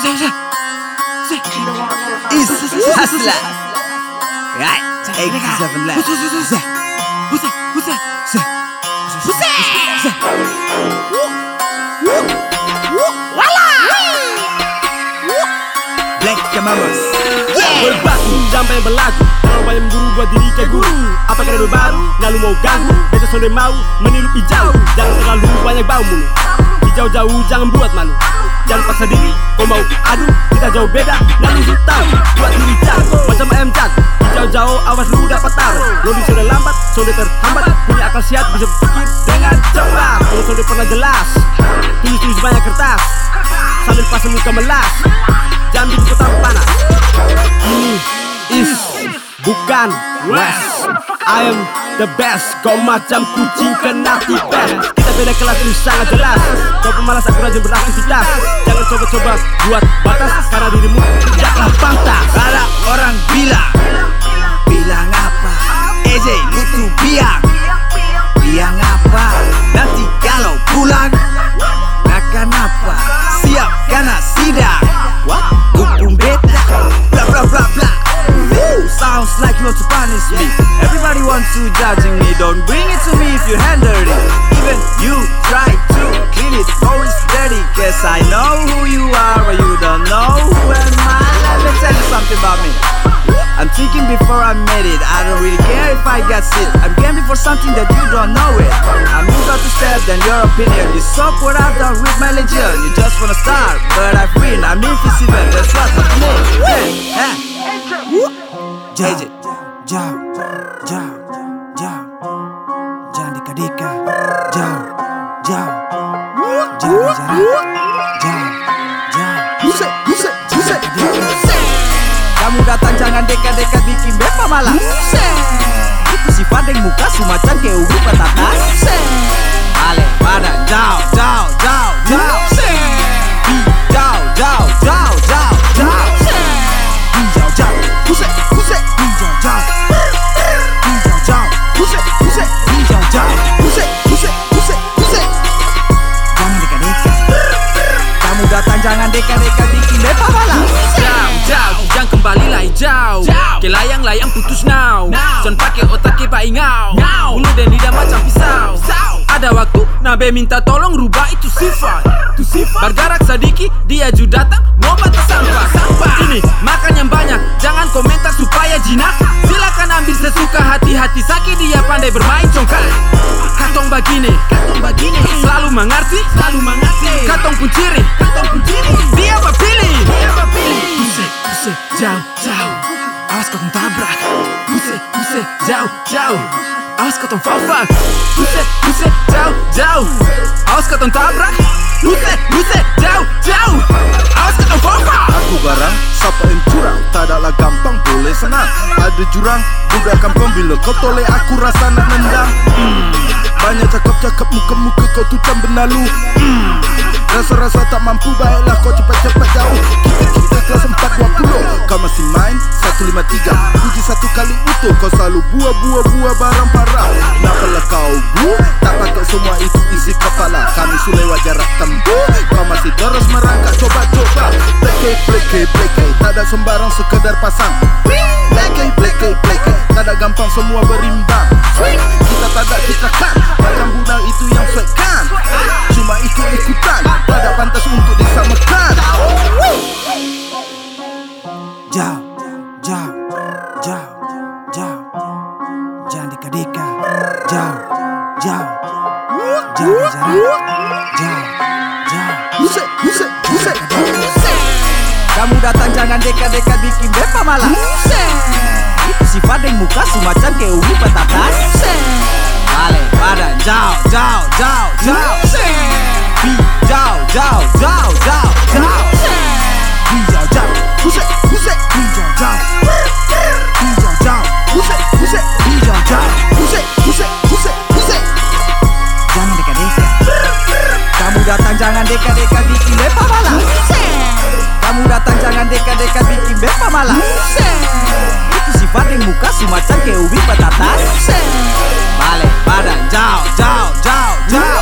Is Hustler. Right, 87 left. Black Kamamas. Berbaku sampai berlagu, terlalu banyak memburu buat diri kayak guru. Apa keren baru, nggak lu mau ganggu. Beta sonde mau meniru hijau. Jangan terlalu banyak bau mulut. Jauh-jauh jangan buat malu. Jangan paksa diri, kau mau adu. Kita jauh beda, nggak lu tahu. Buat diri jago, macam ayam jago. Jauh-jauh awas lu dapat taruh. Lo di sonde lambat, sonde terhambat. Punya akal sehat bisa berpikir dengan cepat. Kalau sonde pernah jelas, tulis banyak kertas sambil pasang muka melas. Jangan bikin kota panas. Ini is bukan west. I am the best. Kau macam kucing kena tipes. Kita beda kelas ini sangat jelas. Kau pemalas aku rajin beraktivitas. Jangan coba-coba buat batas, karena dirimu tidaklah pantas. Ada orang bilang apa? EJ lu tuh biang apa? Nanti kalau pulang akan apa? Siap karena sidang. Hukum beta, bla bla bla bla. Sounds like you want to punish me. Everybody wants to judging me. Don't bring it to me if you handle it. Even you try to clean it, always dirty. Guess I know who you are, but you don't know who am I. Let me tell you something about me. I'm thinking before I made it. I don't really care if I got sick. I'm gambling for something that you don't know it. I'm eager to step than your opinion. You suck what I've done with my legion. You just wanna start, but I've win. I'm invisible, that's what I mean. Jauh, jangan dika-dika. Jauh, jangan jarak. Kamu datang jangan dekat-dekat bikin bepa malas. Itu sifat yang muka sumacan kayak ubi patatas. Ale badan jauh. Jangan dekat-dekat bikin bepa malas. Jauh, jangan kembali lah hijau. Ke layang-layang putus now. Son pake otak ke pak ingau. Ulu dan lidah macam pisau. Ada waktu Nabe minta tolong rubah itu sifat. Bergerak sedikit dia juga datang mau bata sampah. Ini makan yang banyak, jangan komentar supaya jinak. Silakan ambil sesuka, hati-hati sakit dia pandai bermain congkak. Katong begini selalu mengerti. Katong pun ciri dia pilih. Buse, jauh. Awas katong tabrak. Buse, jauh. Awas katong fall. Buse, jauh. Awas katong tabrak. Buse, jauh. Awas katong fall. Aku garang, siapa yang curang? Tak adalah gampang, boleh senang. Ada jurang, budak kampung. Bila kau toleh aku rasa nak nendang. Banyak cakap muka-muka kau tutam benalu. Rasa-rasa tak mampu, baiklah kau cepat-cepat jauh. Kita kelas 420. Kau masih main 153. Puji satu kali utuh. Kau selalu buah barang parah. Nampaklah kau tak pakai semua itu isi kepala. Kami sulewat jarak tempuh. Kau masih terus merangkak, coba-coba. Pleke, tak ada sembarang sekedar pasang. Pleke, tak ada gampang semua berimbang. Kita tak ada kan. Macam budak itu yang sweat kan. Cuma ikut-ikutan, tak ada pantas untuk disamakan. Jauh. Jangan dika-dika. Jauh. Jangan jarak. Buse. Kamu datang jangan dekat-dekat bikin bepa malas. Itu sifat yang muka sumacan kayak ubi patatas. Ale badan jauh. Jangan dekat-dekat. Kamu datang jangan dekat-dekat bikin bepa malas. Itu sifat yang muka sumacan kayak ubi patatas. Balik badan jauh.